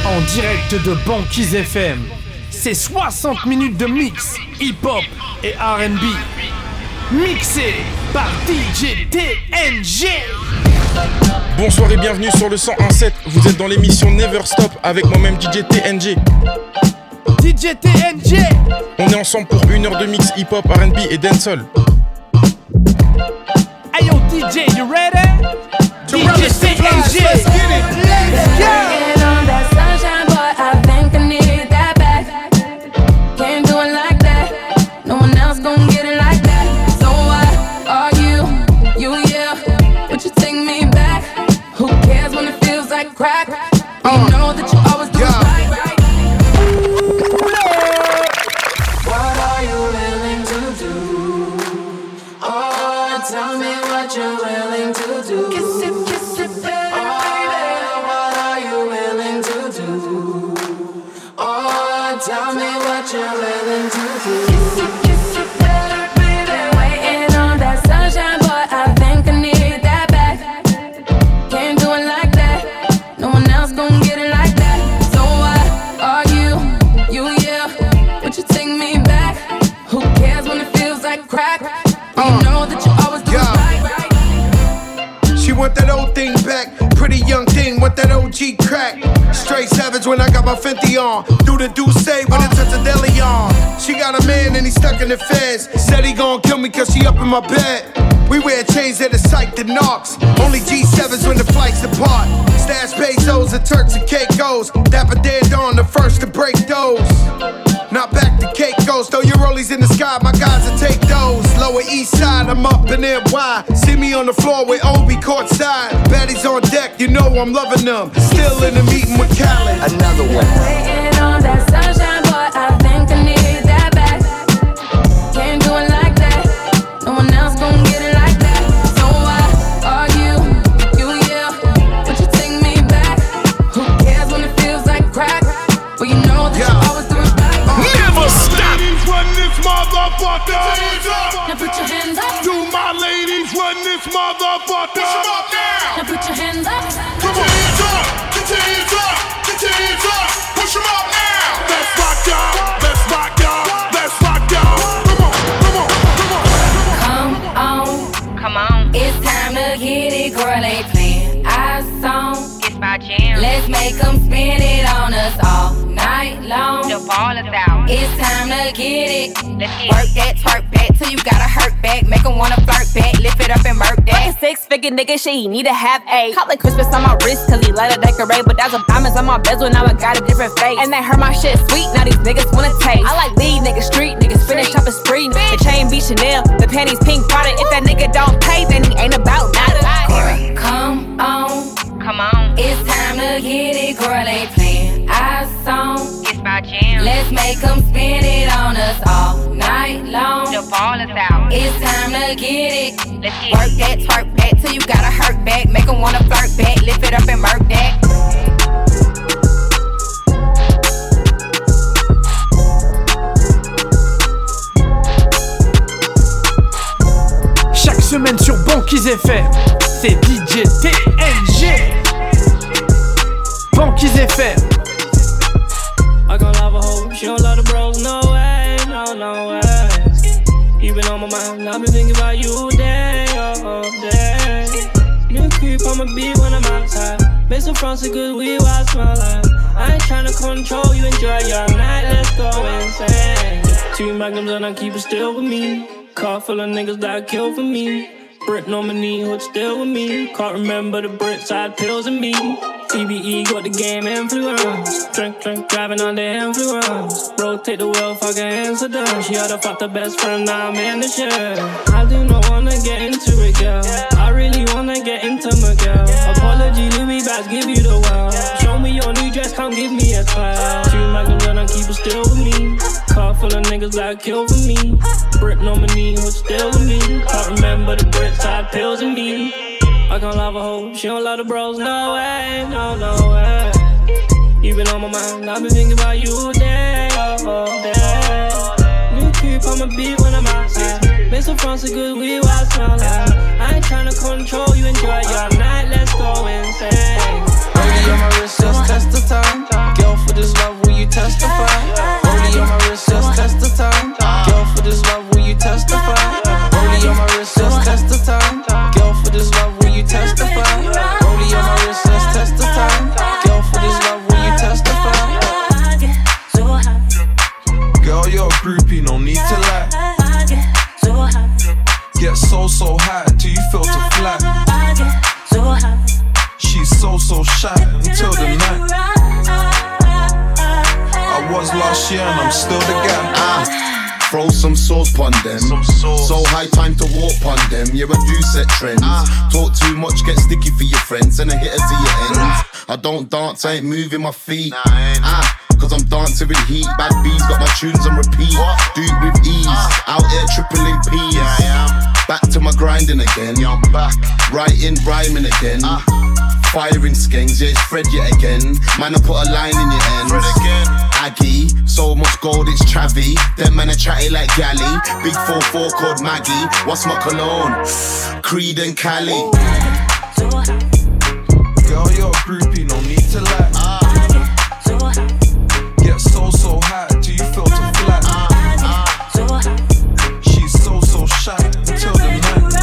En direct de Banquise FM, c'est 60 minutes de mix hip-hop et R&B. Mixé par DJ TNG. Bonsoir et bienvenue sur le 101.7. Vous êtes dans l'émission Never Stop avec moi-même DJ TNG. DJ TNG. On est ensemble pour 1 heure de mix hip-hop, R&B et dancehall. Hey yo DJ, you ready? DJ TNG. Let's get it. Let's go. Crack, you know that you always do right. What are you willing to do? Oh, tell me what you're willing to do. Kiss it, baby. Oh, what are you willing to do? Oh, tell me what you're willing to do. Kiss it, baby. Waiting on that sunshine, boy, I think I need that back. Can't do it like that. No one else gon' get it like that. So why are you, yeah? Would you take me back? Who cares when it feels like crack? You know that you always do right. She want that old thing back. Pretty young thing, want that OG crack. Straight savage when I got my Fenty on. Do the say when it touch a deli on. She got a man and he stuck in the feds. Said he gon' kill me cause she up in my bed. We wear chains that are psyched and knocks. Only G7s when the flights depart. Stash pesos and Turks and Caicos. Dapper Dan Dawn, the first to break those. Not back to Caicos, throw your rollies in the sky, my guys will take those. Lower East Side, I'm up in NY. See me on the floor with Obi courtside. Baddies on deck, you know I'm loving them. Still in the meeting with Khaled. Another one. Waiting on that sunshine, boy, I think I need that back. Can't do it like that. No one else gon' get it like that. So why are you, yeah? Would you take me back? Who cares when it feels like crack? Well, you know that you always do it right. Never stop. Ladies, run this motherfucker. Now put your hands up. Do my ladies run this motherfucker? Push them up now. Now put your hands up. Put your hands up. Put your hands up. Put your hands up. Push them up now. Let's rock, y'all. Let's rock, y'all. Let's rock, y'all. Come on, come on, come on. Come on. It's time to get it, girl. They playing our song. It's my jam. Let's make them spin it on us all night long. The ball is out. It's time to get it. Let's get Work that, twerk back till you gotta hurt back. Make them wanna flirt back, lift it up and murk that. Fucking 6-figure nigga shit, he need to have a. Call it Christmas on my wrist, cause he let it decorate. But that's some diamonds on my bezel, now I got a different face. And they heard my shit sweet, now these niggas wanna taste. I like lead niggas, street niggas, finish shopping spree. The chain be Chanel, the panties pink Prada. If that nigga don't pay, then he ain't about nada. Come on. Come on. It's time to get it, girl. They playing our song. It's my jam. Let's make them spin it on us all night long. The ball is out. It's time to get it. Let's get Work that, twerk back till you gotta hurt back. Make them wanna flirt back, lift it up and murk that. Chaque semaine sur Banquise FM, c'est DJ TNG. Banquise FM. I gon' love a hoe, she don't love the bros, no way, no way. You been on my mind, I've been thinking about you day, all day. You creep on my beat when I'm outside. Make some fronts of good weed while I smell like. I ain't tryna control you, enjoy your night, let's go insane. 2 magnums and I keep it still with me. Car full of niggas that kill for me. Brick on my knee, hood still with me. Can't remember the brick side pills and me. TBE got the game influence. Drink, driving on the influence. Rotate the wheel, fucking incident. She had to fuck the best friend, now I'm in the shit. I do not wanna get into it, girl. I really wanna get intimate, girl. Apology, Louis bags, give you the world. Show me your new dress, come give me a smile. 2 magnums and I keep it still with me. Car full of niggas that kill for me. Brick on my knee, hood still with me. Can't remember the brick side pills and me. I can't love a hoe, she don't love the bros, no way, no way. You been on my mind, I've been thinking about you day, all day. You creep on my beat when I'm outside. Make some fronts of good weed while I smell like. I ain't tryna control you, enjoy your night, let's go insane. Baby, on my wrist, just test the time. so shy until the night. I was last year and I'm still the guy. Throw some sauce pon them. So high time to walk pon them. Yeah, I do set trends. Talk too much, get sticky for your friends, and I hit it to your ends. I don't dance, I ain't moving my feet. Cause I'm dancing with heat. Bad bees got my tunes on repeat. Do it with ease. Out here tripling P's. Back to my grinding again. Writing, rhyming again. Firing skanks, yeah, it's Fred yet again. Man, I put a line in your ends. Aggie, so much gold, it's Travi. Them men are chatty like Galley. Big 4-4 called Maggie. What's my cologne? Creed and Cali. Girl, you're a groupie, no need to lie. Get so high, do you feel too flat? She's so shy until the night.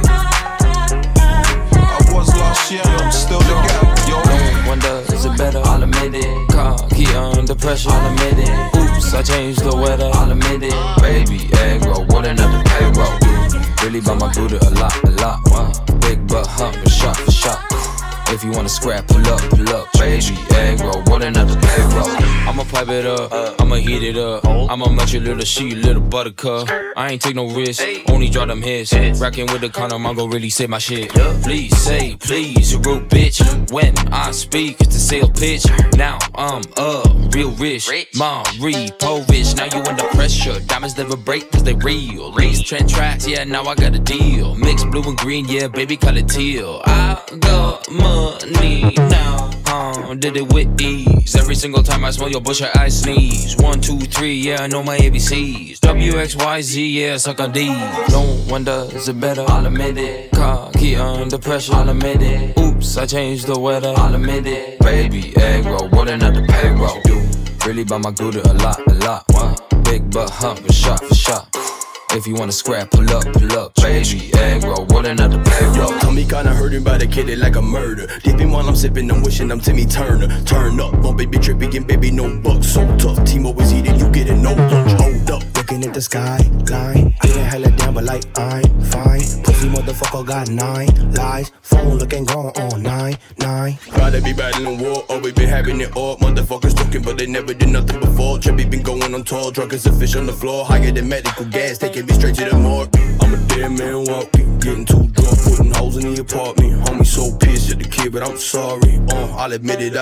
I was last year, I'm still the guy. Yo, no wonder, is it better? I'll admit it. Car, key under pressure, I'll admit it. Oops, I changed the weather, I'll admit it. Baby, egg roll, what another payroll. Really by my booty a lot. Wow. Big butt hump, shot for shot. If you wanna scrap, pull up, baby, egg roll, what another payroll. I'ma pipe it up, I'ma heat it up. I'ma melt your little shit, little buttercup. I ain't take no risk, only draw them hits. Racking with the condom, I'm gon' really say my shit. Please say, please, you rude bitch. When I speak, it's the sales pitch. Now I'm real rich. Mom, repo rich, now you under pressure. Diamonds never break cause they real. These trend tracks, yeah, now I got a deal. Mix blue and green, yeah, baby, call it teal. I got money now, did it with ease. Every single time I smell your bush, I sneeze. 1, 2, 3, yeah, I know my ABCs. WXYZ, yeah, suck on D. No wonder, is it better? I'll admit it. Car, key under pressure, I'll admit it. Oops, I changed the weather, I'll admit it. Baby, egg roll, what another payroll. Really by my gouda a lot. Wow. Big butt hump, shot for shot. If you wanna scrap, pull up, baby, egg roll, what another payroll. Tummy kinda hurting, but I kid it like a murder. Dipping while I'm sipping, I'm wishing I'm Timmy Turner. Turn up, on baby tripping, and baby no bucks. So tough, team always eating, you getting no lunch. Hold up, looking at the skyline. Getting hella down, but like I'm fine. Pussy motherfucker got 9 lies. Phone looking gone on 9. Rather be battling war, or we been having it all. Motherfuckers talking, but they never did nothing before. Trippy been going on tour, drunk as a fish on the floor. Higher than medical gas, taking me straight to the morgue. I'm a dead man walking, getting too drunk, putting holes in the apartment. Homie so pissed at the kid, but I'm sorry. I'll admit it,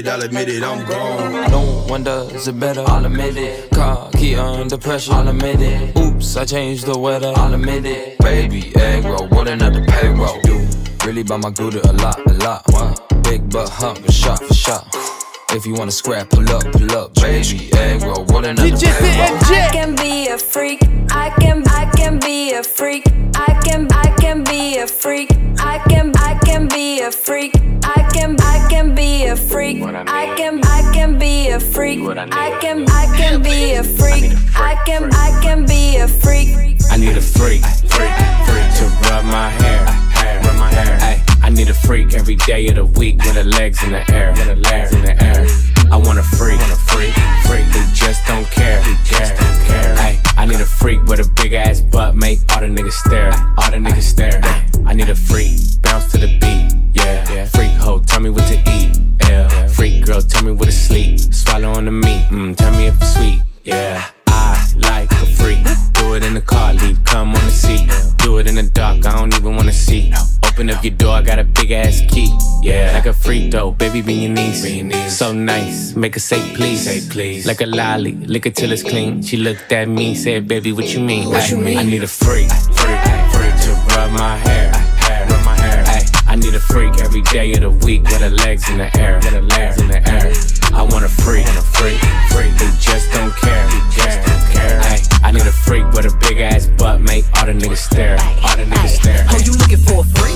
I'm gone. No wonder, is it better? I'll admit it. Car, key under pressure, I'll admit it. Oops, I changed the weather, I'll admit it. Baby, egg roll, what another payroll. Really by my gouda a lot. Wow. Big butt hump, shot for shot. If you wanna scrap, pull up, baby, egg roll, what another payroll. I can be a freak. I can be a freak. I can be a freak. I can be a freak. I can be a freak. I can be a freak. I can be a freak. I can be a freak. I need a freak to rub my hair. Ay, I need a freak every day of the week with her legs in the air. I want a freak who just don't care. Ay, I need a freak with a big ass butt, make all the niggas stare. Ay, I need a freak, bounce to the beat. Yeah. Freak hoe, tell me what to eat. Yeah. Freak girl, tell me what to sleep. Swallow on the meat, tell me if it's sweet. Yeah. I like a freak. Do it in the car, leave cum on the seat. Do it in the dark, I don't even wanna see. Open up your door, I got a big ass key. Yeah, like a freak though, baby, be your niece. So nice, make her say please. Like a lolly, lick it till it's clean. She looked at me, said, baby, what you mean? I need a freak to rub my hair. Ay, I need a freak every day of the week with her legs in the air. I want a freak who just don't care. Ay, I need a freak with a big ass butt, make all the niggas stare. Oh, you looking for a freak?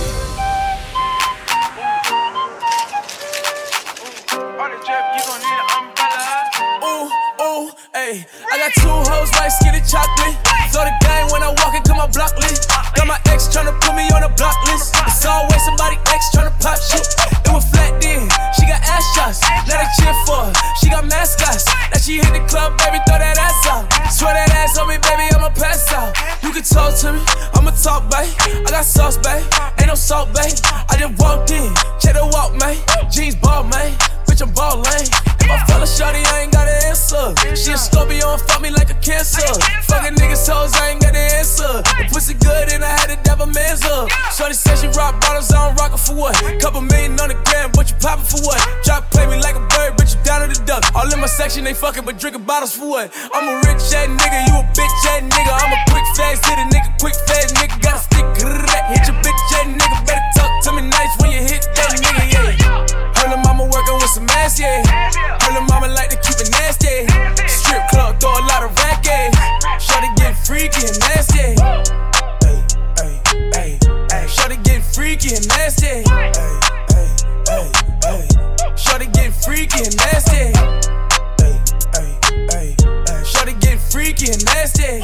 Ay, I got 2 hoes like skinny chocolate. Throw the game when I walk into my block list. Got my ex tryna put me on a block list. It's always somebody ex tryna pop shit. It was flat then, she got ass shots. Now they cheer for her, she got mascots. Now she hit the club, baby, throw that ass out. Swear that ass on me, baby, I'ma pass out. You can talk to me, I'ma talk, babe. I got sauce, babe. Ain't no salt, babe. I just walked in, check the walk, man. Jeans ball, man. Bitch, I'm ballin'. If I fell a shawty, I ain't got an answer. She a Scorpio and fuck me like a cancer. Fucking niggas hoes, I ain't got the answer. The pussy good and I had to dab a man's up. Shawty said she rock bottles, I don't rock it for what? Couple million on the gram, but you poppin' for what? Drop play me like a bird, bitch, you down to the duck. All in my section, they fucking, but drinking bottles for what? I'm a rich ass nigga, you a bitch ass nigga. I'm a quick fast hitter, nigga, quick fast nigga. Gotta stick, hit your bitch ass nigga. Better talk to me nice when you hit that nigga, yeah. Her lil' mama working with some ass, yeah. Her lil' mama like to keep it nasty. Strip club, throw a lot of rack, yeah. Shawty get freaky and nasty. Shawty get freaky and nasty. Shawty get freaky and nasty. Shawty get freaky and nasty.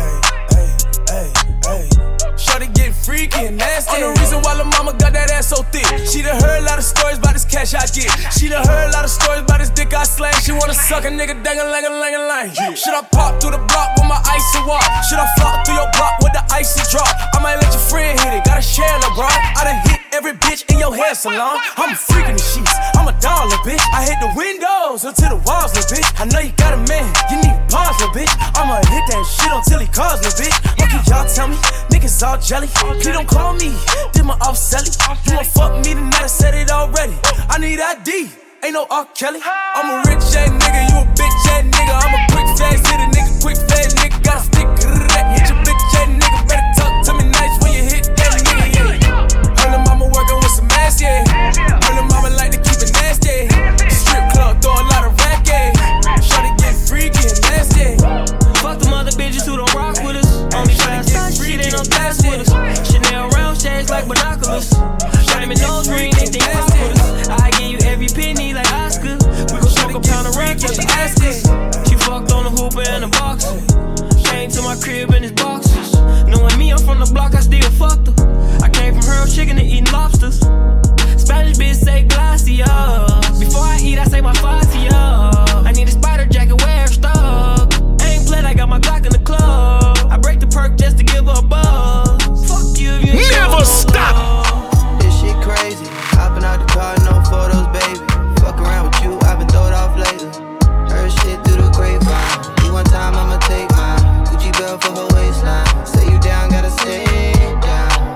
Shawty get freaky and nasty. On the reason why lil' mama got that ass so thick. She done heard a lot of stories about this cash I get. She done heard a lot of stories about this dick I slang. She wanna suck a nigga dang-a-lang-a-lang-a-lang. Should I pop through the block with my icy walk? Should I flop through your block with the icy drop? I might let your friend hit it, gotta share LeBron. I done hit every bitch in your hair salon. I'm a freak in the sheets, I'm a doll, little bitch. I hit the windows until the walls, little bitch. I know you got a man, you need pause, little bitch. I'ma hit that shit until he calls, little bitch. What can y'all tell me? Niggas all jelly. Please don't call me, did my off selly. You won't fuck me tonight, I said it already. I need ID, ain't no R. Kelly. I'm a rich ass nigga, you a bitch ass nigga. I'm a quick fast hitter, nigga, quick fast nigga. Gotta stick, hit your bitch ass nigga. Better talk to me nice when you hit that nigga, yeah. Her lil' mama working with some ass, yeah. Her lil' mama like to keep it nasty. Strip club, throw a lot of rack, yeah. Shawty get freaky and nasty. Fuck them other bitches who don't rock with us. Only fast shit, ain't no gas with us. Chanel round shades like binoculars. Shawty me nose ring, they think fuck with us. I give you every penny like Oscar. We gon' smoke a pound of rank, just ask us. She fucked on the hooper and the boxer. Came to my crib in his boxers. Knowing me, I'm from the block, I still fucked her. I came from Herb Chicken to eating lobsters. Spanish bitch say glacia. Before I eat, I say my facia. I need a spider jacket, wear stuck. Ain't played, I got my Glock in the club. I break the perk just to give her a buzz. Fuck you if you never stop. This shit crazy. Hopping out the car, no photos, baby. Fuck around with you, I've been throwed off lately. Heard shit through the grapevine. You one time, I'ma take mine. Gucci belt for her waistline. Say you down, gotta stay down.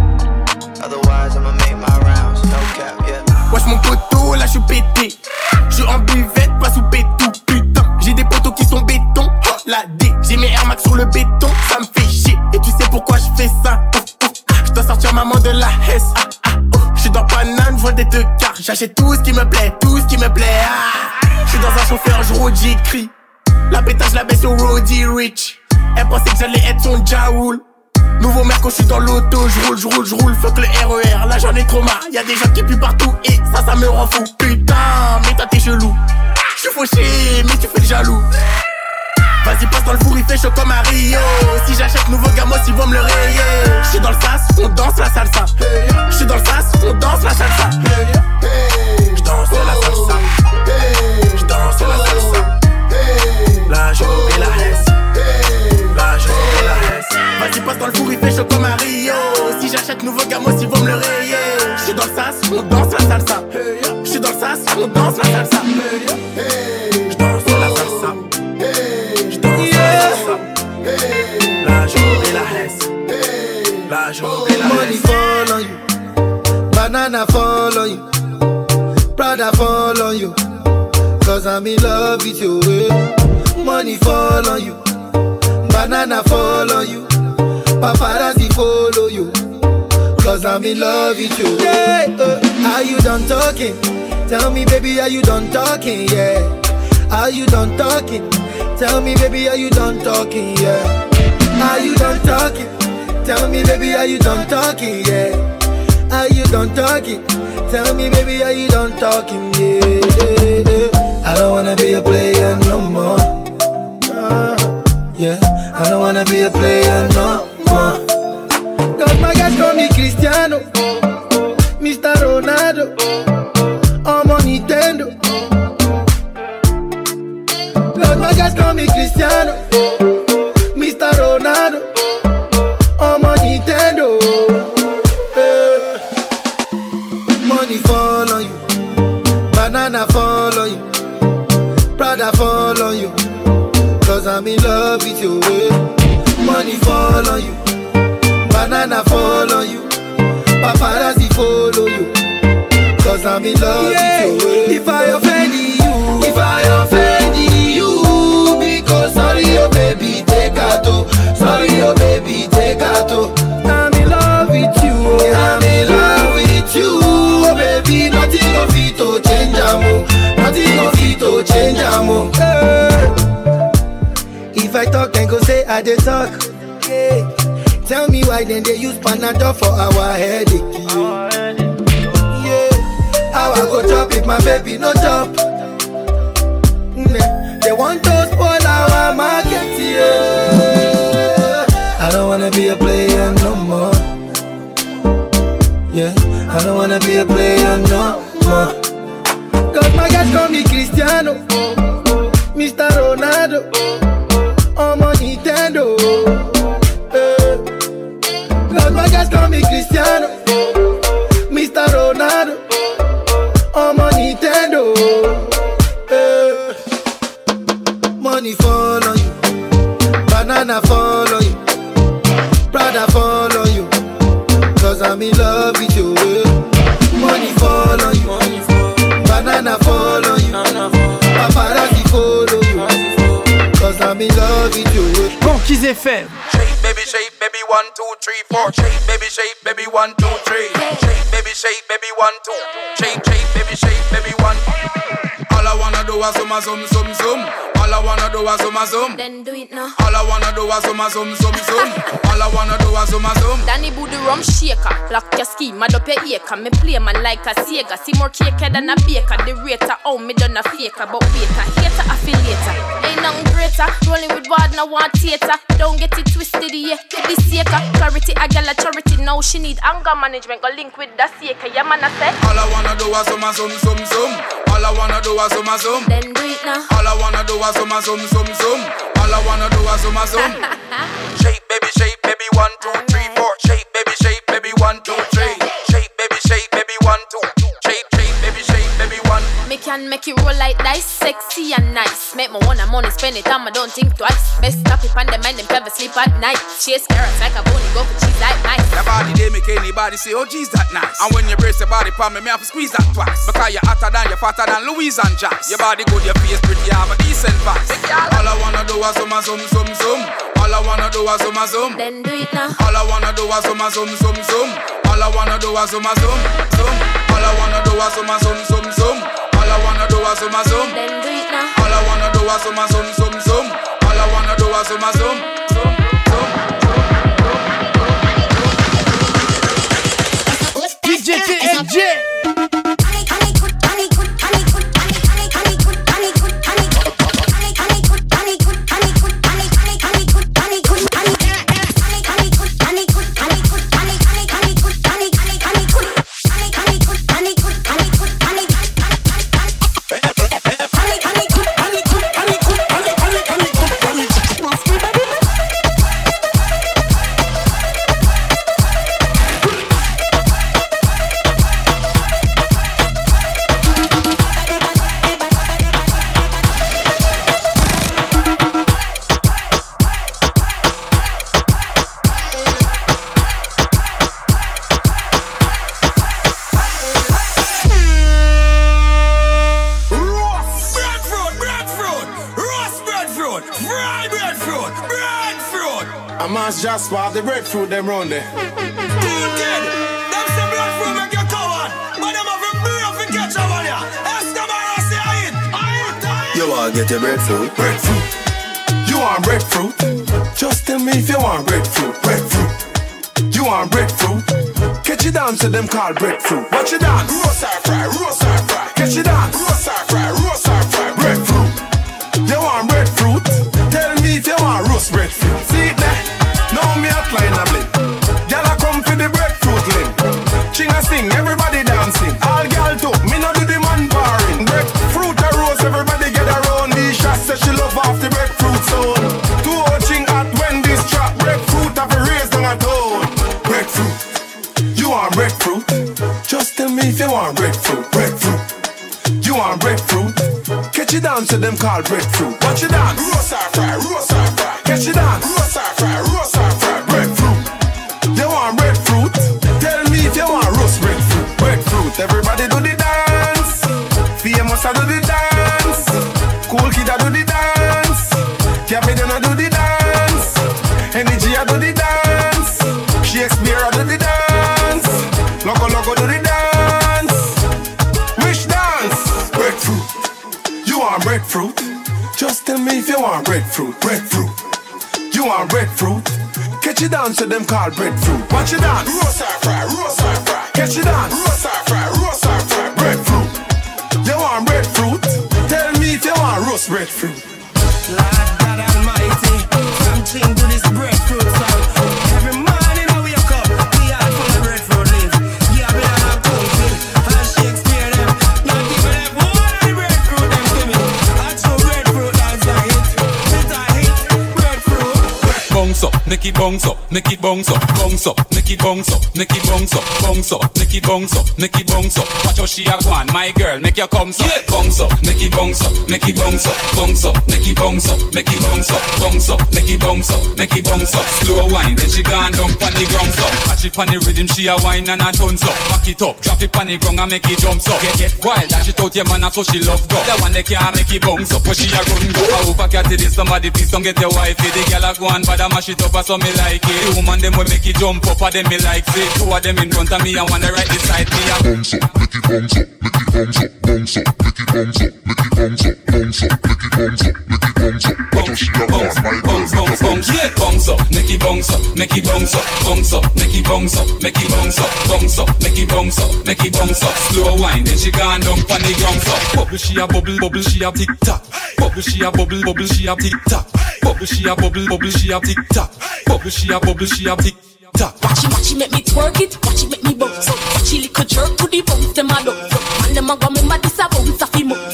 Otherwise, I'ma make my rounds. No cap, yeah. Wesh mon poteau, là j'suis pété. J'suis en buvette, pas sous béton. Putain, j'ai des poteaux qui sont béton. Oh, la D, j'ai mes Air Max sur le béton. Ça me fait chier, et tu sais pourquoi j'fais ça. J'dois sortir maman de la S. J'suis dans Paname, j'vois des deux quarts. J'achète tout ce qui me plaît, tout ce qui me plaît. J'suis dans un chauffeur, j'roule, j'écris. La pétage, la baisse au Roddy Rich. Elle pensait que j'allais être son Jaoul. Nouveau mec quand j'suis dans l'auto, j'roule. Fuck le RER, là j'en ai trop marre. Y'a des gens qui puent partout et ça me rend fou. Putain, mais toi t'es chelou. J'suis fauché, mais tu fais le jaloux. Vas-y passe dans le four, il fait chaud comme à Rio. Si j'achète nouveau gamos, ils vont me le rayer. J'suis dans le sas, on danse la salsa. J'suis dans le sas, on danse la salsa. J'danse la salsa. J'danse la salsa. Là je remets la hesse. Là je remets la hesse. Vas-y passe dans le four, il fait chaud comme à Rio. Si j'achète nouveau gamos, ils vont me le rayer. J'suis dans le sas, on danse la salsa. J'suis dans le sas, on danse la salsa. J'danse la salsa. Là je remets la hesse. Là je remets la hesse. Money fall on you, banana fall on you, Prada fall on you, cause I'm in love with you. Money fall on you, banana fall on you, paparazzi follow you, cause I'm in love with you. Yeah, are you done talking? Tell me baby, are you done talking? Yeah, are you done talking? Tell me baby, are you done talking? Yeah, are you done talking? Tell me baby, are you done talking? Yeah, are you done talking? Tell me baby, are you done talking? Yeah, I don't wanna be a player no more. Yeah, I don't wanna be a player no more. Cause my guys call me Cristiano, Mr. Ronaldo, I'm on Nintendo. Cause my guys call me Cristiano, Mr. Ronaldo, I'm on Nintendo. Banana fall on you, Prada fall on you, cause I'm in love with you. Money fall on you, banana fall on you, paparazzi follow you, cause I'm in love with you. If I offend you, because sorry oh baby take out, sorry oh baby take out. I'm in love with you, I'm in love with you, oh baby. Nothing of it to change amo, nothing of it to change amo. If I talk then go say I dey talk. Yeah. Tell me why then they use Panadol for our headache. Yeah. How I go chop if my baby no chop? They want to spoil our market. Yeah. I don't wanna be a player no more. Yeah. I don't wanna be a player no more. Cause my guys call me Cristiano, Mr. Ronaldo, I'm on Nintendo. Cause my guys call me Cristiano, Mr. Ronaldo, I'm on Nintendo. Money fall on you, banana fall on you, Prada fall on you, cause I'm in love with you. Money fall on you, banana fall on you, paparazzi follow you, cause I'm in love with you. Banquise FM. Shake, baby, 1, 2, 3, 4. Shake, baby, 1, 2, 3. Shake, baby, 1, 2. Shake, baby, 1. All I wanna do is zoom. All I wanna do is zoom. Then do it now. All I wanna do is zoom. All I wanna do is zoom. Danny Boo the rum shaker. Lock your ski, mad up your acre. Me play man like a Sega. See more cake than a baker. The rater, oh me done a faker. But waiter, hater, affiliator. Ain't nothing greater. Rolling with wad, no one theater. Don't get it twisted, yeah. Get this shaker. Clarity, I got a charity. Now she need anger management. Go link with the shaker. Yeah man, I say. All I wanna do is zoom. All I wanna do is zoom. Then do it now. All I wanna do is zoom. All I wanna do is zoom. Shake, baby, 1, 2, 3, 4. Shake, baby, 1, 2, 3. Shake, baby, 1, 2. Shake, baby, 1. Me can make it roll like dice, sexy and nice. Make my money, spend it on, I don't think twice. Best stop it on the mind, them never sleep at night. Chase carrots like a bunny, go for cheese like nice. Your body, they make anybody say, oh geez, that nice. And when you brace your body palm, me have to squeeze that twice. Because you're hotter than, you're fatter than Louise and Jax. Your body good, your face pretty, you have a decent vice. All I wanna do is zoom. All I wanna do is zoom. Then do it now. All I wanna do is zoom. All I wanna do is zoom. All I wanna do is zoom. All I wanna do is zoom. Then do it now. All I wanna do is zoom. All I wanna do is zoom. DJ TNG. Just swap the breadfruit them round there. Good kid, them some breadfruit make you coward, but them have a brain for catch up on ya. Escobar say I eat. You wanna get your breadfruit? You want breadfruit? Just tell me if you want breadfruit. You want breadfruit? Catch you dance to them called breadfruit. Watch you dance. Roast or fry. Catch you dance. Roast or fry. Breadfruit. You want breadfruit? Tell me if you want roast breadfruit. See it there? Now me a line a blip. Gyal a come for the breadfruit limb. Ching a sing, everybody dancing. All gyal too, me no do the man barring. Breadfruit a roast, everybody get around. Nisha says she love off the breadfruit zone. Too ching at when this trap. Breadfruit have a raised on a tone. Breadfruit, you want breadfruit? Just tell me if you want breadfruit. You want breadfruit? Catch it down to them called breadfruit. Watch it dance. Roast or fry, roast or fry. Catch it dance. Roast or fry, roast or fry. Breadfruit. You want breadfruit? Tell me if you want roast breadfruit. Breadfruit. Everybody do the dance. Famous I do the dance. Cool kid I do the dance. Captain I do the dance. Energy I do the dance. Shakespeare I do the dance. Loco loco do the dance. Which dance? Breadfruit. You want breadfruit? Just tell me if you want breadfruit. Breadfruit. You want breadfruit? Catch it down to them called breadfruit. Watch it dance. Roast or fry, roast or fry. Catch it dance. Roast or fry, roast or fry. Breadfruit. You want breadfruit? Tell me if you want roast breadfruit. Lord God Almighty, something to this breadfruit song. Every morning I wake up, we are full of breadfruit leaves. Yeah, we are counting, and Shakespeare them. Not even them one of the breadfruit them to me. I show breadfruit as a hit. It's a hit, breadfruit. Bounce up, make it bounce up, make it bounce up, bounce up, make it bounce up, make it bounce up, bounce up, make it bounce up, make it bounce up. Watch how she a go on, my girl, make your come up, bounce up, make it bounce up, make it bounce up, bounce up, make it bounce up, make it bounce up, bounce up, make it bounce up, make it bounce up. Slow wine, then she gone down pon the ground up. Catch it pon the rhythm, she a wine and a tons up. Back it up, drop it pon the ground and make it jump up. Get wild, dash it out your man, so she love go. That one they can't make it bounce up, but she a run go. I hope I get it, somebody please don't get your wife. The girl a go on, but I mash it up, so me like it. The woman them will make it jump up, and them me like it. Two of them in front of me and one right beside me. Bounce up, make it bounce up, make it bounce up, bounce up, make it bounce up, make it bounce up, bounce up, make it bounce up, make it bounce up. Watch how she a bounce, bounce, bounce, bounce, yeah. Bounce up, make it bounce up, make it bounce up, bounce up, make it bounce up, make it bounce up, bounce up, make it bounce up, make it bounce up. Slow wine, then she gone down pon the ground up. Bubble she a bubble, bubble she a tick tock. Bubble she a bubble, bubble she a tick tock. Bubble she a bubble, bubble she a tick tock. Bubble she a bubble she a tick tock. Watch it make me twerk it, watch it make me bounce up. Watch it little jerk to the bounce, them a dump up. Man them a go me mad, this a bounce off him moves.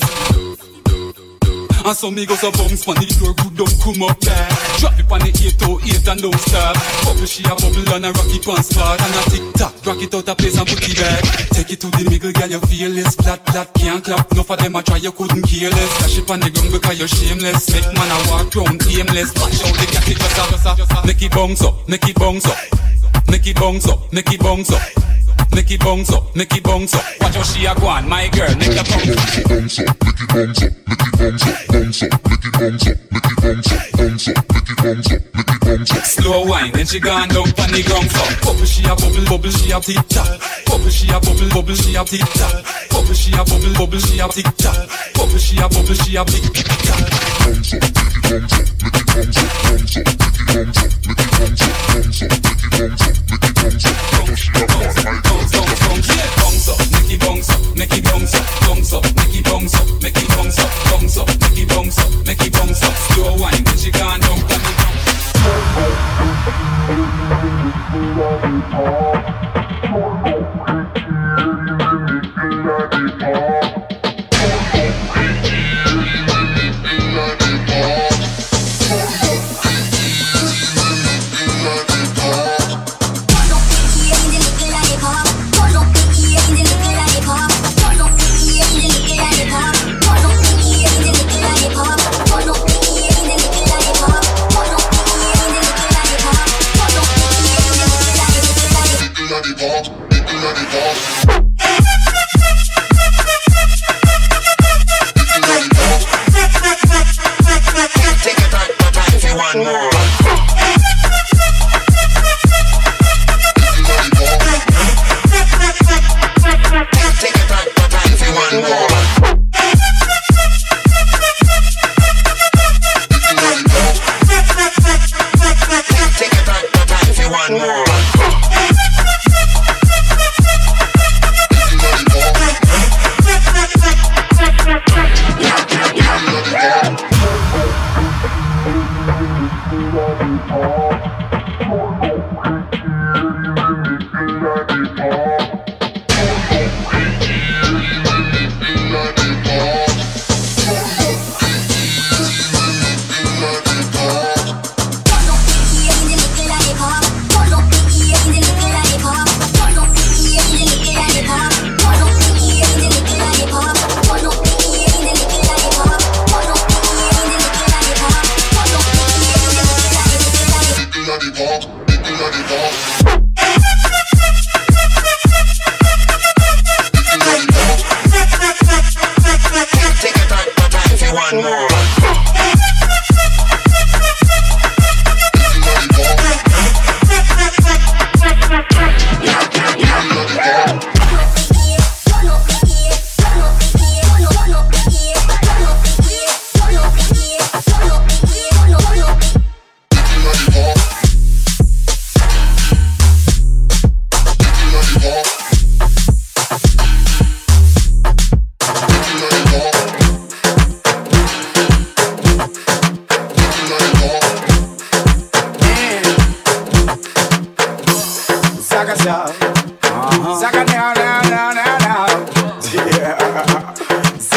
And so me go so bounce pon the floor, good don't come up there. Drop it pon the 808 and don't stop. Bubble she a bubble and a rock it pon spot. And a tick tock, rock it out a place and put it back. Take it to the middle, girl, you feel less. Flat, flat, can't clap. Enough of them a try, you couldn't care less. Dash it pon the ground because you're shameless. Make man a walk round aimless. Watch out the cat it just a. Make it bounce up, make it bounce up. Make it bounce up, make it bounce up. Make it bounce up, make it bounce up. Watch how she a go on, my girl, make it bounce up. Make it bounce up, make it bounce up, bounce up, make it bounce up, make it bounce up, bounce up, make it bounce up, make it bounce up. Slow wine, then she gone down pon the ground up. Bubble she a bubble, bubble she a tick tock. Bubble she a bubble, bubble she a tick tock. Bubble she a bubble, bubble she a tick tock. Bubble she a bubble, she a tick tock. Bounce up, make it bounce up, make it bounce up, bounce up, make it bounce up, make it bounce up, bounce up, make it bounce up, make it bounce up. Watch how she a go on, my girl. Bounce up, make it bounce up, make it bounce up, bounce up, make it bounce up, make it bounce up, bounce up, make it bounce up, make it bounce up. Slow wine, then she gone down pon the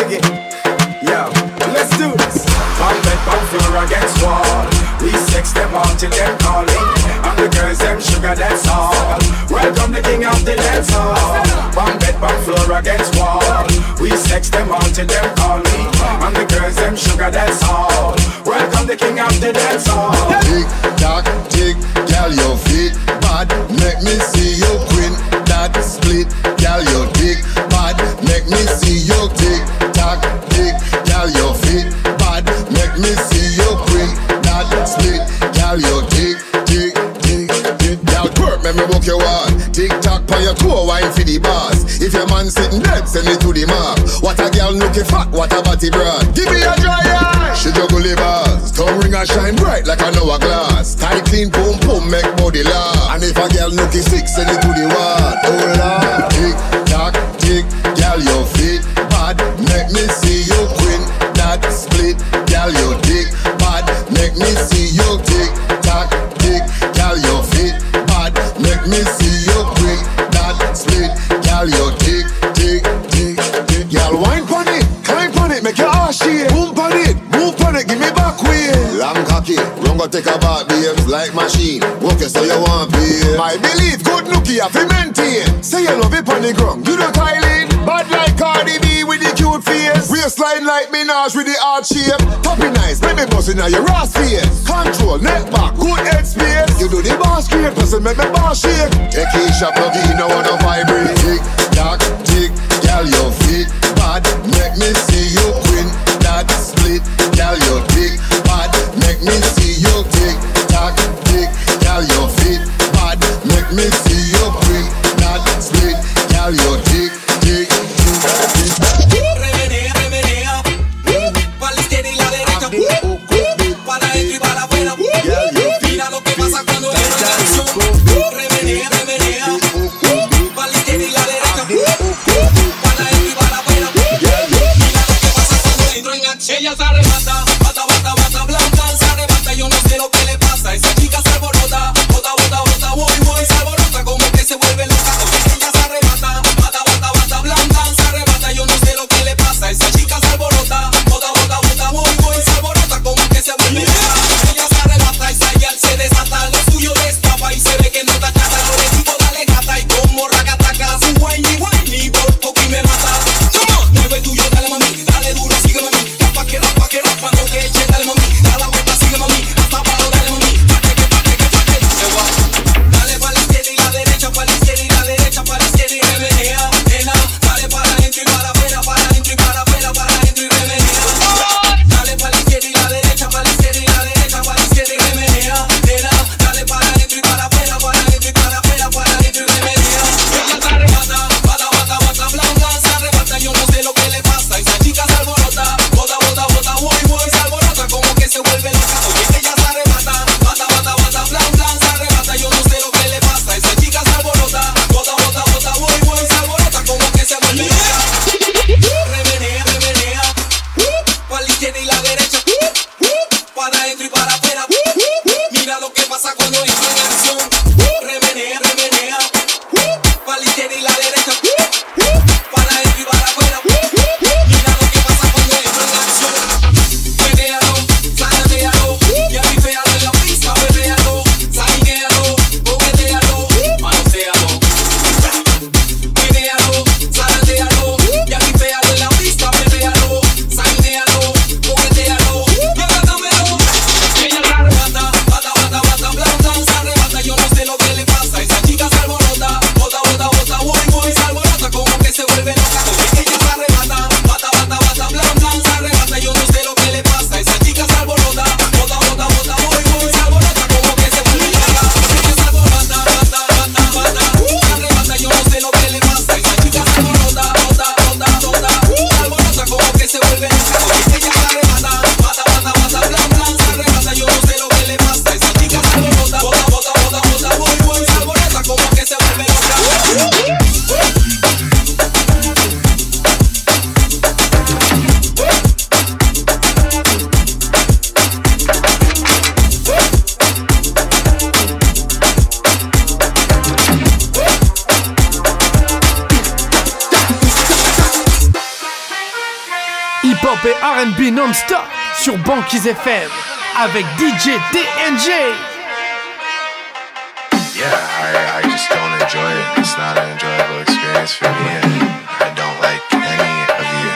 again. Yo, let's do this. One bed, one floor against wall. We sex them all till them calling. And the girls them sugar, that's all. Welcome the king of the dance hall. One bed, one floor against wall. We sex them all till them calling. And the girls them sugar, that's all. Welcome the king of the dance hall. Tick tock, tick, girl your feet bad. Make me see you queen that split, girl your dick bad. Make me see you tick tock, tick, girl your feet bad. Make me see you queen that split, girl your dick, tick, tick, tick. Girl twerk, make me walk your wall. Tick tock on your toe, wine for the bars. If your man sitting dead, send it to the mark. What a girl looking fat, what a body broad. Give me a dry eye. She juggle the bars, tongue ring and shine bright like an hourglass. Tight clean, boom boom, make body laugh. And if a girl looking sick, send it to the wall. Oh Lord, tick tock, tick, girl your feet bad. Make me see you queen that split, girl your dick bad. Make me see you tick tock, tick, girl your feet bad. Make me see you queen that split, girl your dick, tick, tick, tick. Girl wine pon it, climb pon it, make your ass shake. Boom pon it, move pon it, give me back way. Long cocky, run go take a bath, babes, like machine. Walk it so you want be. My belief, good nookie, have to maintain. Say you love it pon the ground, you don't Kylie. Bad like Cardi B with the cute face. Waistline like Minaj with the hard shape. Toppy nice, baby bustin' on your ass face. Control, neck back, good head space. You do the bar straight, person make me bar shake. Take Keisha plug in, no wanna vibrate. Tick, tock, tick, girl your feet bad. Make me see you queen that split, girl your dick bad. Make me see you tick, tock, tick, girl your feet bad. Make me see you queen that split, girl your dick, tick, tick, tick. Remenea, remenea, para la izquierda y la derecha, para adentro y para afuera. Mira lo que pasa cuando yo no canción. Remenea, remenea, para la izquierda y la derecha, para adentro y para afuera. Mira lo que pasa cuando entro en acción. Ella se arrebata, bata, bata, bata, blanca, se arrebata, yo no sé lo que le pasa. Esa chica se alborota, bota, bota, bota, voy, voy, se alborota como que se vuelve loca. Ella se arrebata, bata, bata, bata, blanca, se arrebata, yo no sé lo que le pasa. Esa chica se alborota, bota, bota, bota, voy, voy, se alborota como que se vuelve loca. Ella se arrebata, esa yal se desata, lo suyo destapa y se ve que no está chata. Lo necesito dale gata y como racataca, su whiny, whiny, por poco y me mata. Come on, mueve tuyo, dale mami, dale duro, sígueme a mí, rapa que hip-hop et R&B non-stop sur Banquise FM avec DJ TNG. Yeah, I just don't enjoy it. It's not an enjoyable experience for me, and I don't like any of you.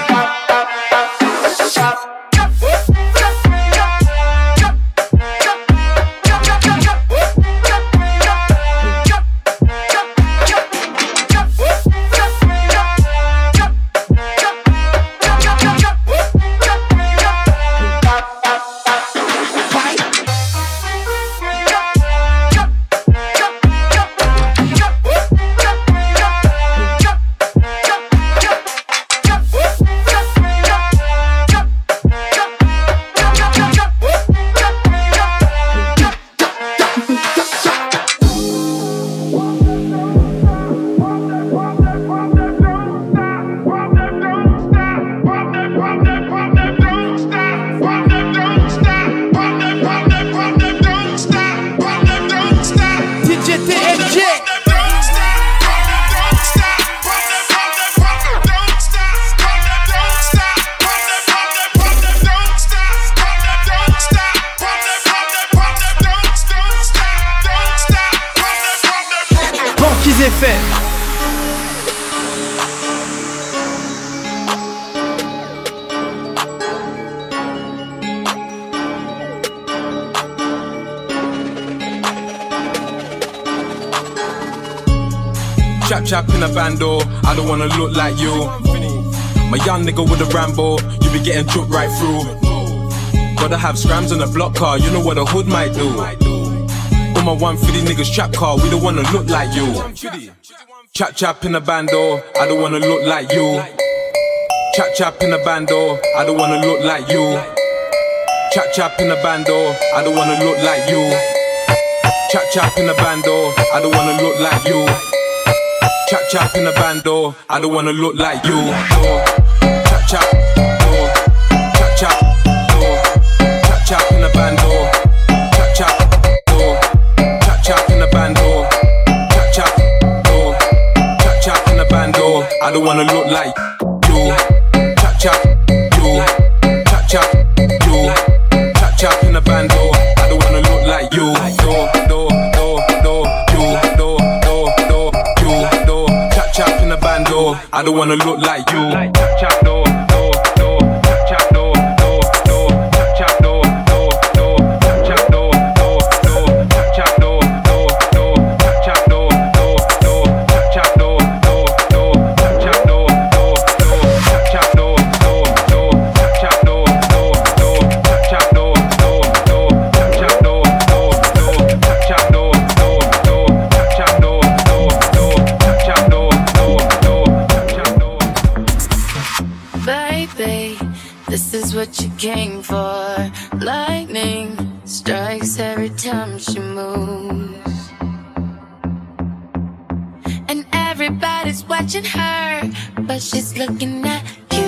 Chap in a bando, I don't wanna look like you. My young nigga with a Rambo, you be getting took right through. Gotta have scrams on a block car, you know what a hood might do. All my 150 niggas trap car, we don't wanna look like you. Chap in a bando, I don't wanna look like you. Chap in a bando, I don't wanna look like you. Chap in a bando, I don't wanna look like you. Chap in a bando, I don't wanna look like you. Chap in a bando, I don't wanna look like you. Chap, chap in a bando. Chap in a bando. Chap in a bando, I don't wanna look like you. Chap, you. Chap in a bando, I don't wanna look like you. Chap in a bando, I don't wanna look like you. Chap do, chap do, chap do, chap do, chap do, chap do, chap do, what you came for. Lightning strikes every time she moves, and everybody's watching her, but she's looking at you.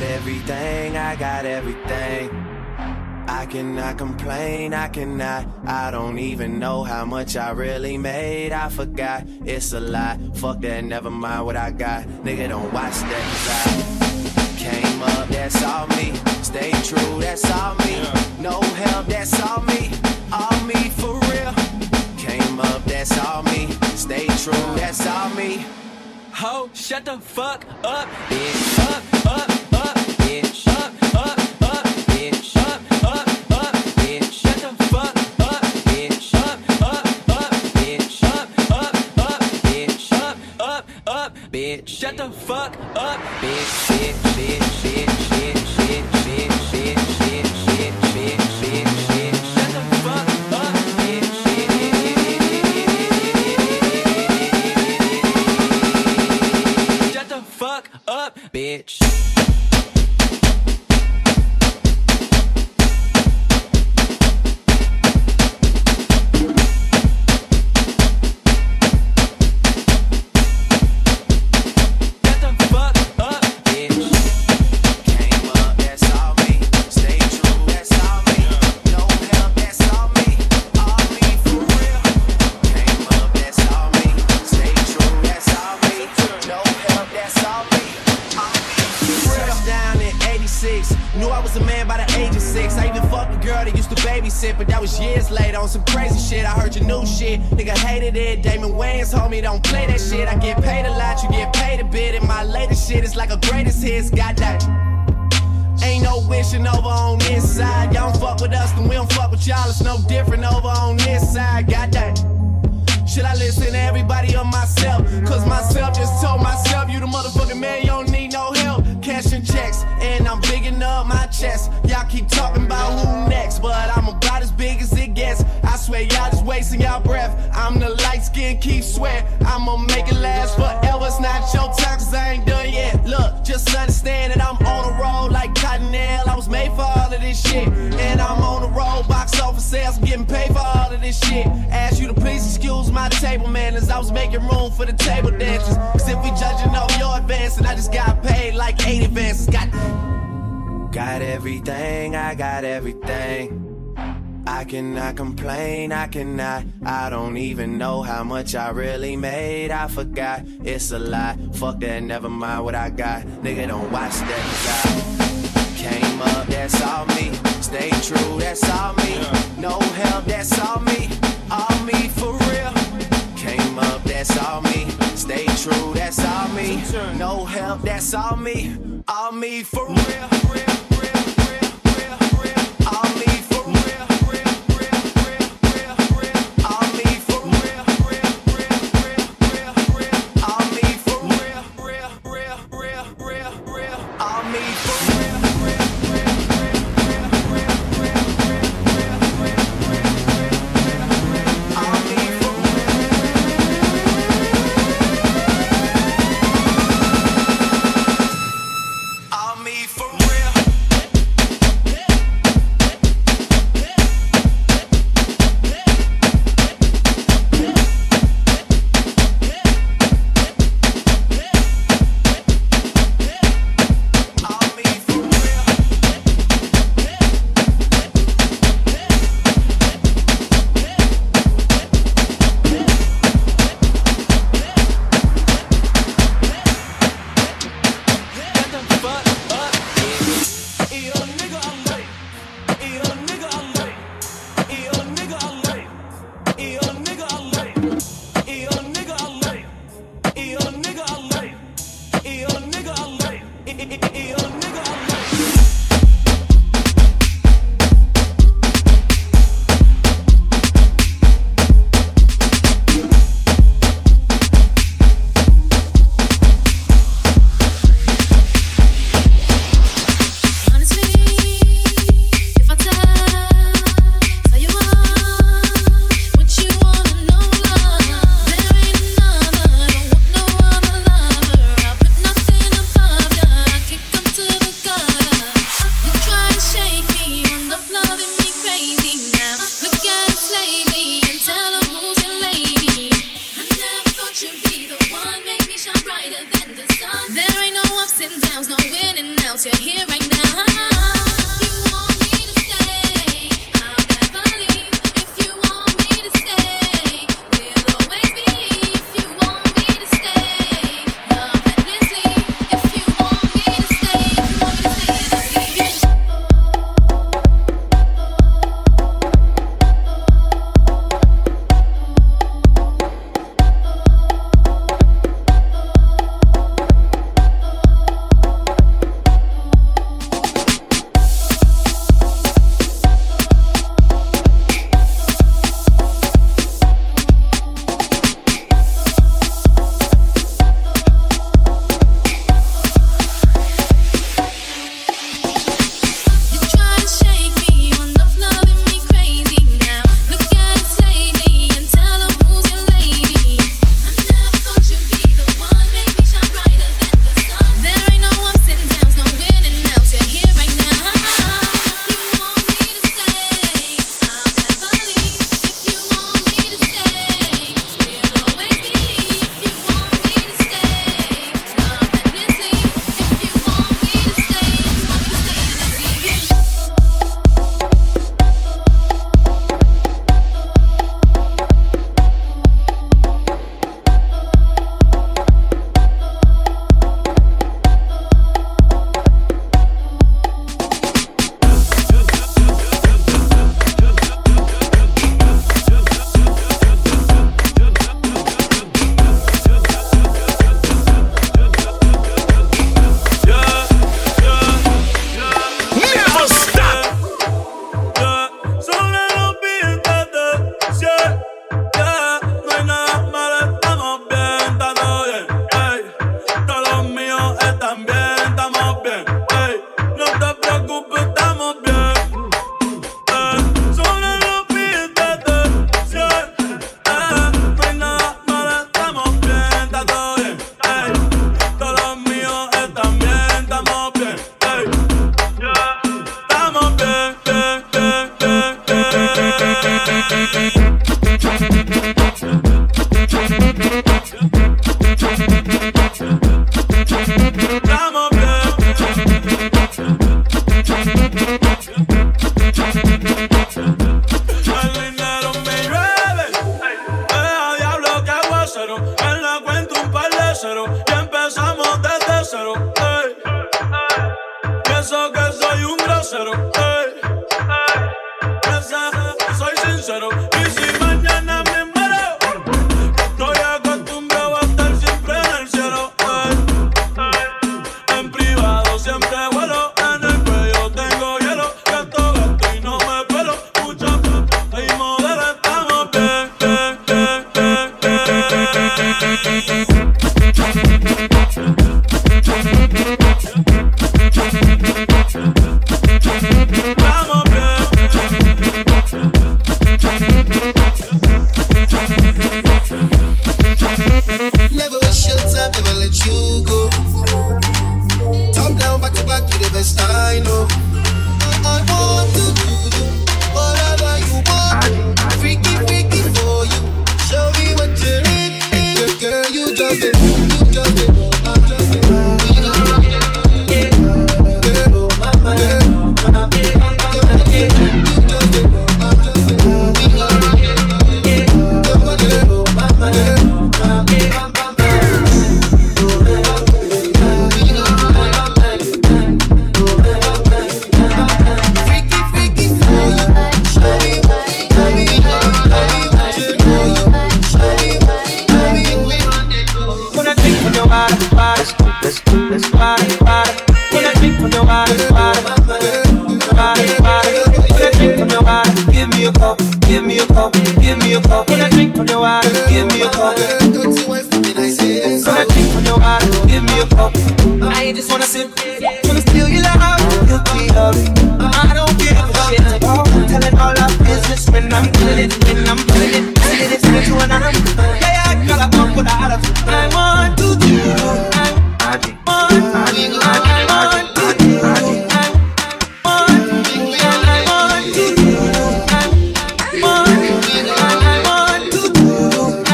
Got everything, I got everything. I cannot complain, I cannot. I don't even know how much I really made. I forgot, it's a lie. Fuck that, never mind what I got. Nigga, don't watch that, 'cause I came up, that's all me. Stay true, that's all me. No help, that's all me. All me for real. Came up, that's all me. Stay true, that's all me. Ho, shut the fuck up, bitch. Up, bitch. Up, bitch. Up, bitch. Shut the fuck up, bitch. Up, bitch. bitch. Up, bitch. Shut the fuck up, bitch. Shit, shit, shit, shit, shit, shit, shit, shit, shit, shit, shit, shit. Shut the fuck up, bitch. Shut the fuck up, bitch. But that was years later on some crazy shit. I heard your new shit, nigga hated it. Damon Wayans, homie, don't play that shit. I get paid a lot, you get paid a bit. And my latest shit is like a greatest hits. Got that. Ain't no wishing over on this side. Y'all don't fuck with us, then we don't fuck with y'all. It's no different over on this side. Got that. Should I listen to everybody or myself? Cause myself just told myself, you the motherfucking man, you don't need no help. Cashing checks, and I'm bigging up my chest. Y'all keep talking about who next, but I'm about as big as it gets. I swear y'all just wasting y'all breath. I'm the light skin, keep sweat. I'ma make it last forever. It's not your time, cause I ain't done yet. Look, just understand that I'm on a roll like Cottonelle. I was made for all of this shit. And I'm on the road, box office sales, I'm getting paid for all of this shit. Ask you to please excuse my table manners. I was making room for the table dancers. Cause if we judging off your advance, and I just got paid like 8 advances. Got everything, I got everything. I cannot complain, I cannot. I don't even know how much I really made. I forgot, it's a lie. Fuck that, never mind what I got. Nigga, don't watch that, 'cause I came up, that's all me. Stay true, that's all me. No help, that's all me. All me for real. Came up, that's all me. Stay true, that's all me. No help, that's all me. All me for real. All me for real. All me for real. All me for real. All me for real. announce you're here right now.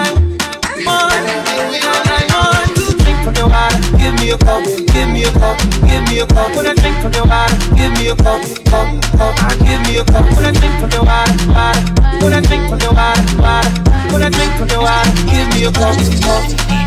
Give me a cup. give me a cup. When I drink from your water, give me a cup, cup. Give me a cup. When I drink from your water, water. When I drink from your water, water. When I drink from your water, give me a cup, cup.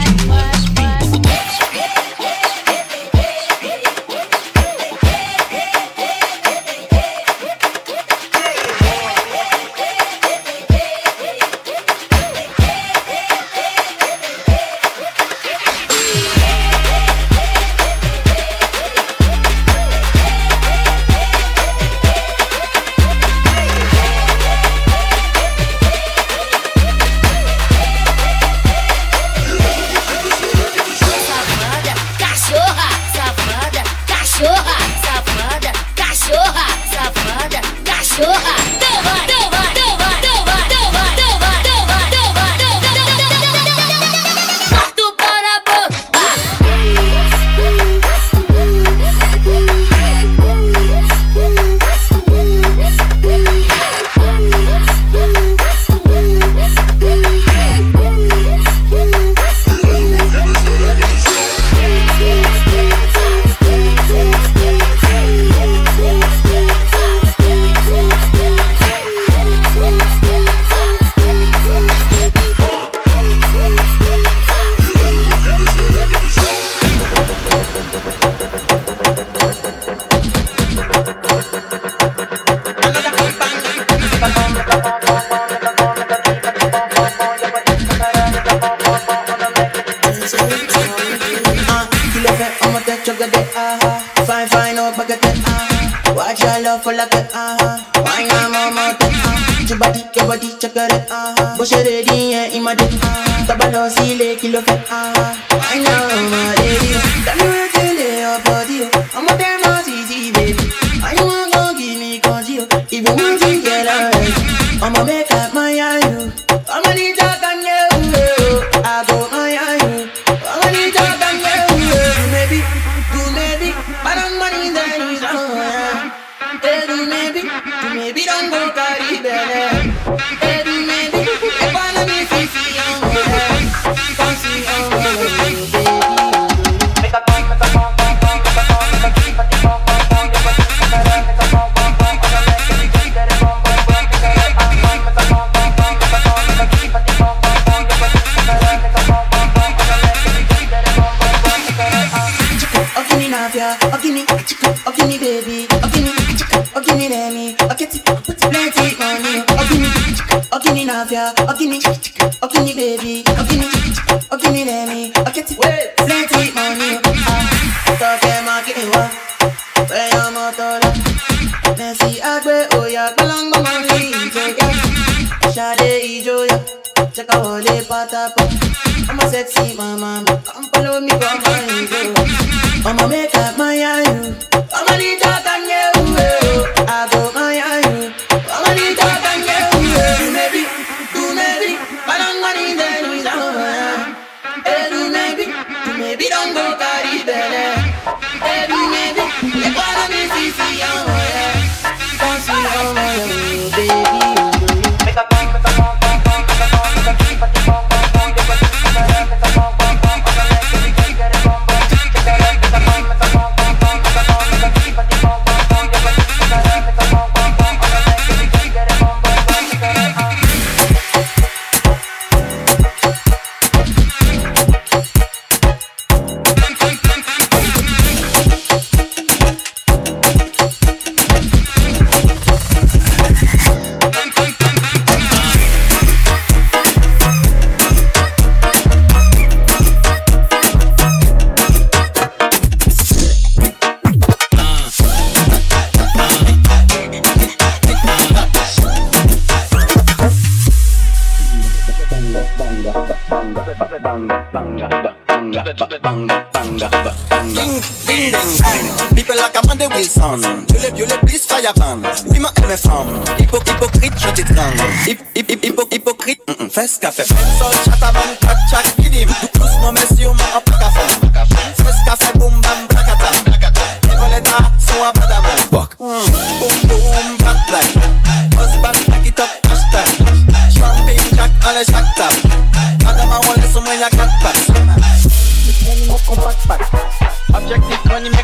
People like Amanda Wilson, you le plus fire fan. Oui, ma aime femme, hypocrite, je t'étrangle. Hypocrite, fais ce qu'a fait. Sol, chataban, tchak, kidim. Doucement, messieurs, ma en café. Fais ce qu'a fait, boum, bam, blacata. Les voletas sont à badam. Boum, boum, black, black. Husband, back it up, hashtag. Champagne, jack, allez, jack, tap. Madame, on laisse au moins, y'a 4 pattes. Objectif, on y met compact.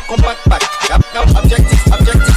back. Objectives.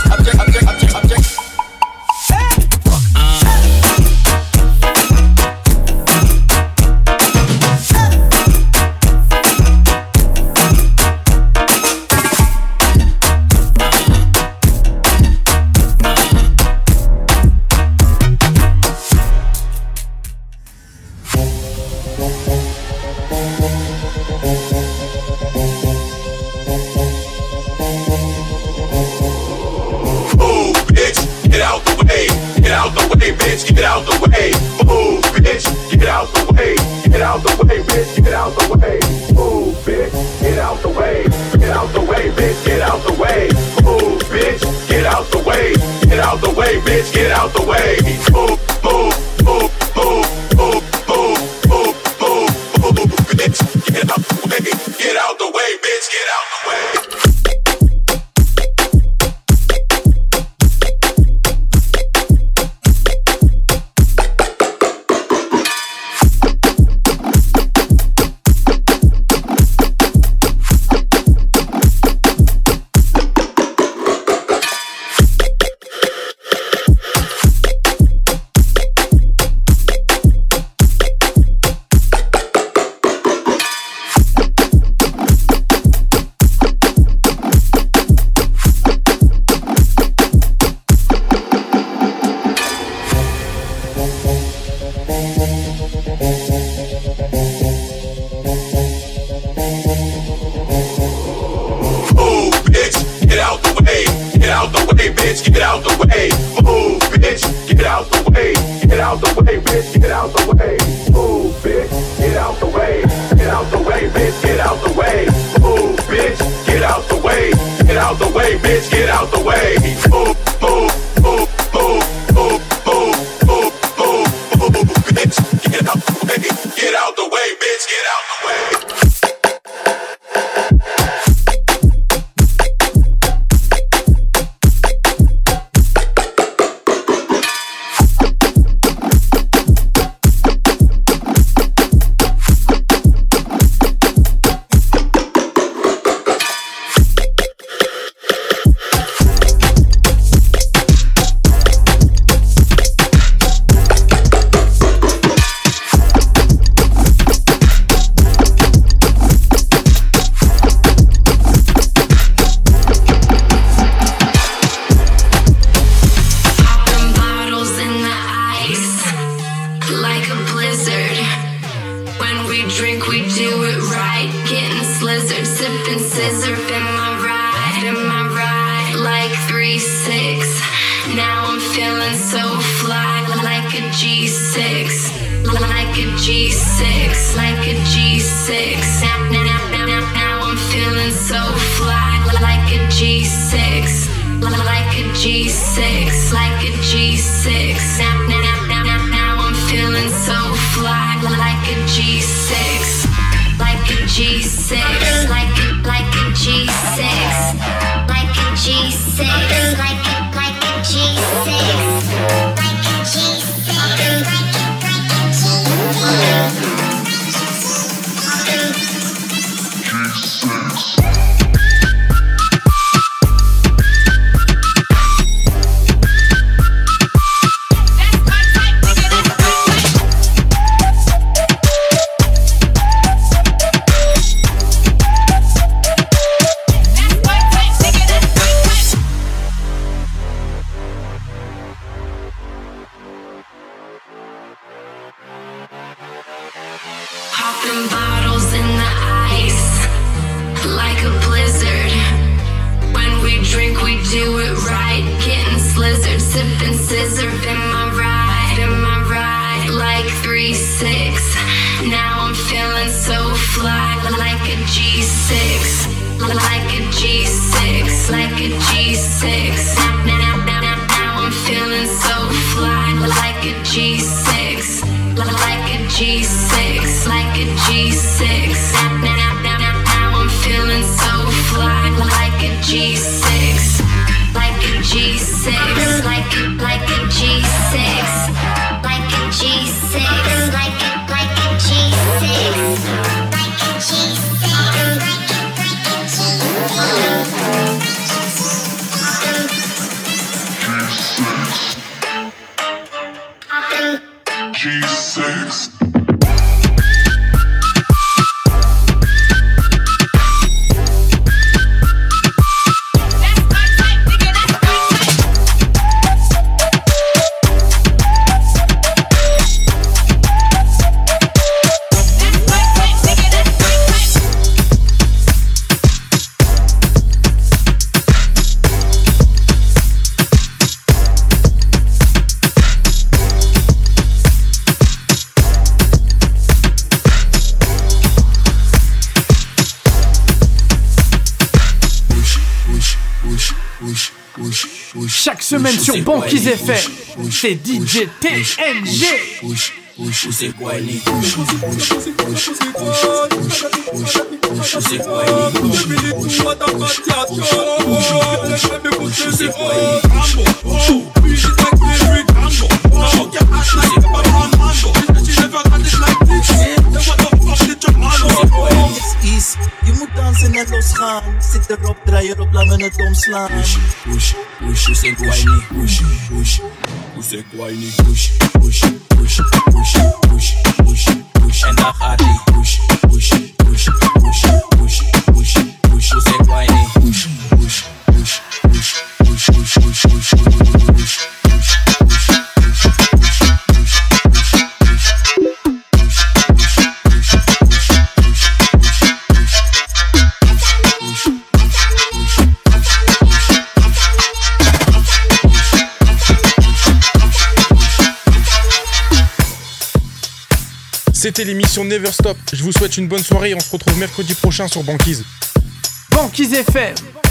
bitch, get out the way. Move, bitch, get out the way. Get out the way, bitch, get out the way. Move, bitch, get out the way. Get out the way, bitch, get out the way. Move, bitch, get out the way. Get out the way, bitch, get out the way. Move, move, move, move, move, move, move, move, move, bitch, get out the way. Get out the way, bitch, get out the way. Bitch, get out the way. Move, bitch, get out the way. Get out the way, bitch, get out the way. Move, bitch, get out the way. Get out the way, bitch, get out the way. Move, bitch, get out the way. Get out the way, bitch, get out the way. Move, move, move, move, move, move, move, move, move, bitch, get out the way. Get out the way, bitch, get out the way. Chaque semaine sur Banquise FM, c'est DJ TNG. C'est quoi les je moet dansen en losgaan. Zit erop, draai erop, laat me het omslaan. Push, c'est quoi niet? C'est quoi niet? En dan gaat ie. Push, c'est quoi niet? C'était l'émission Never Stop. Je vous souhaite une bonne soirée et on se retrouve mercredi prochain sur Banquise. Banquise FM.